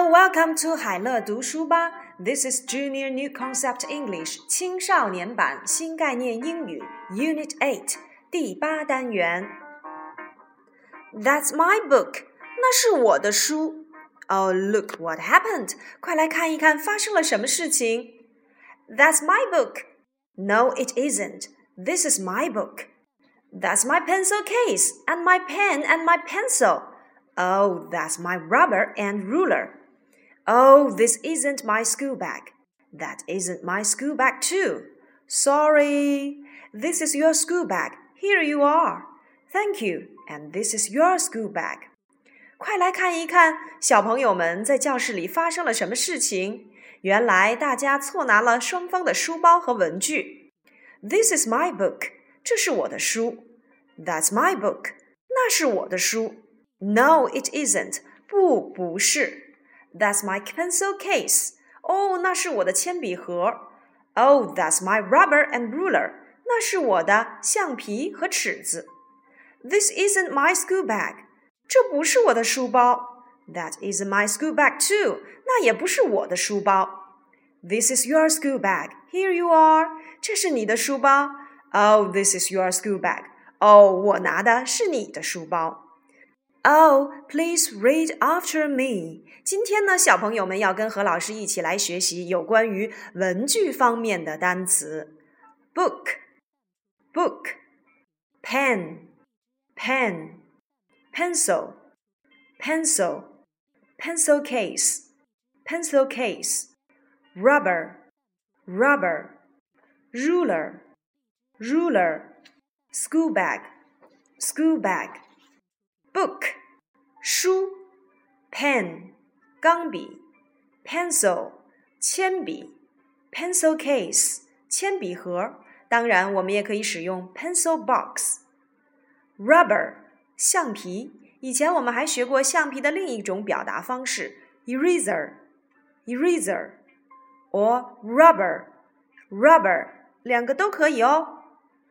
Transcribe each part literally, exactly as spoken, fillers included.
welcome to 海乐读书吧 This is Junior New Concept English 青少年版新概念英语 Unit eight 第八单元 That's my book 那是我的书 Oh, look what happened 快来看一看发生了什么事情 That's my book No, it isn't This is my book That's my pencil case and my pen and my pencil.Oh, that's my rubber and ruler. Oh, this isn't my school bag. That isn't my school bag too. Sorry. This is your school bag. Here you are. Thank you. And this is your school bag. 快来看一看，小朋友们在教室里发生了什么事情。原来大家错拿了双方的书包和文具。This is my book. 这是我的书。That's my book. 那是我的书。No, it isn't. 不，不是。That's my pencil case. 哦，那是我的铅笔盒。Oh, that's my rubber and ruler. 那是我的橡皮和尺子。This isn't my school bag. 这不是我的书包。That isn't my school bag too. 那也不是我的书包。This is your school bag. Here you are. 这是你的书包。Oh, this is your school bag. 哦，我拿的是你的书包。Oh, please read after me. 今天呢，小朋友们要跟何老师一起来学习有关于文具方面的单词。Book, book, pen, pen, pencil, pencil, pencil case, pencil case, rubber, rubber, ruler, ruler, school bag, school bag.Book 书 Pen 钢笔 Pencil 铅笔 Pencil case 铅笔盒当然我们也可以使用 Pencil box Rubber 橡皮以前我们还学过橡皮的另一种表达方式 Eraser Eraser or Rubber Rubber 两个都可以哦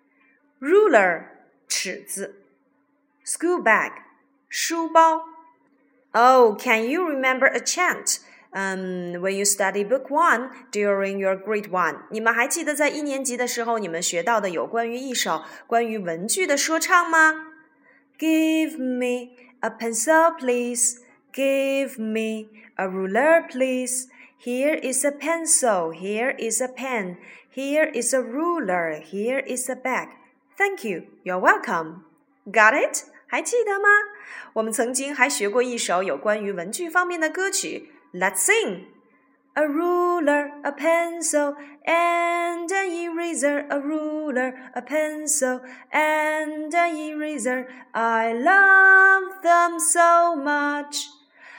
Ruler 尺子 School bag书包 Oh, can you remember a chant um, when you study book one during your grade one? 你们还记得在一年级的时候你们学到的有关于一首关于文具的说唱吗 Give me a pencil, please. Give me a ruler, please. Here is a pencil. Here is a pen. Here is a ruler. Here is a bag. Thank you. You're welcome. Got it?还记得吗？我们曾经还学过一首有关于文具方面的歌曲 Let's sing! A ruler, a pencil, and an eraser, a ruler, a pencil, and an eraser. I love them so much.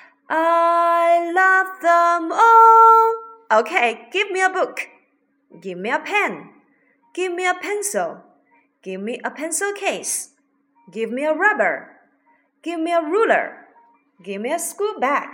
I love them all. Okay, give me a book. Give me a pen. Give me a pencil. Give me a pencil case.Give me a rubber. Give me a ruler. Give me a school bag.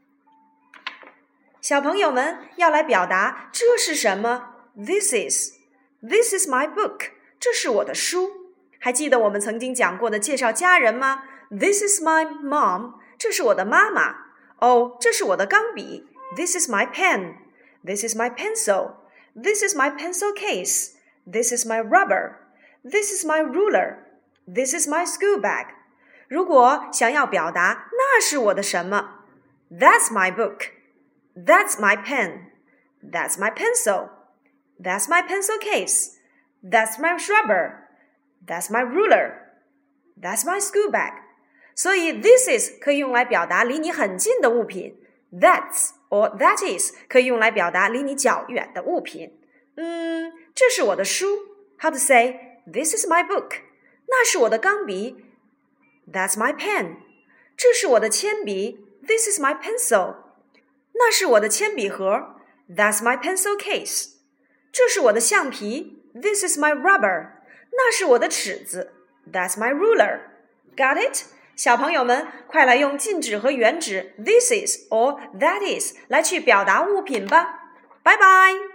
小朋友们要来表达这是什么 This is. This is my book. 这是我的书。还记得我们曾经讲过的介绍家人吗 This is my mom. 这是我的妈妈。哦，这是我的钢笔。This is my pen. This is my pencil. This is my pencil case. This is my rubber. This is my ruler.This is my school bag. 如果想要表达那是我的什么 That's my book. That's my pen. That's my pencil. That's my pencil case. That's my rubber. That's my ruler. That's my school bag. 所以 this is 可以用来表达离你很近的物品 That's or that is 可以用来表达离你较远的物品嗯，这是我的书 How to say This is my book?那是我的钢笔 That's my pen 这是我的铅笔 This is my pencil 那是我的铅笔盒 That's my pencil case 这是我的橡皮 This is my rubber 那是我的尺子 That's my ruler Got it? 小朋友们快来用近指和远指 This is or that is 来去表达物品吧拜拜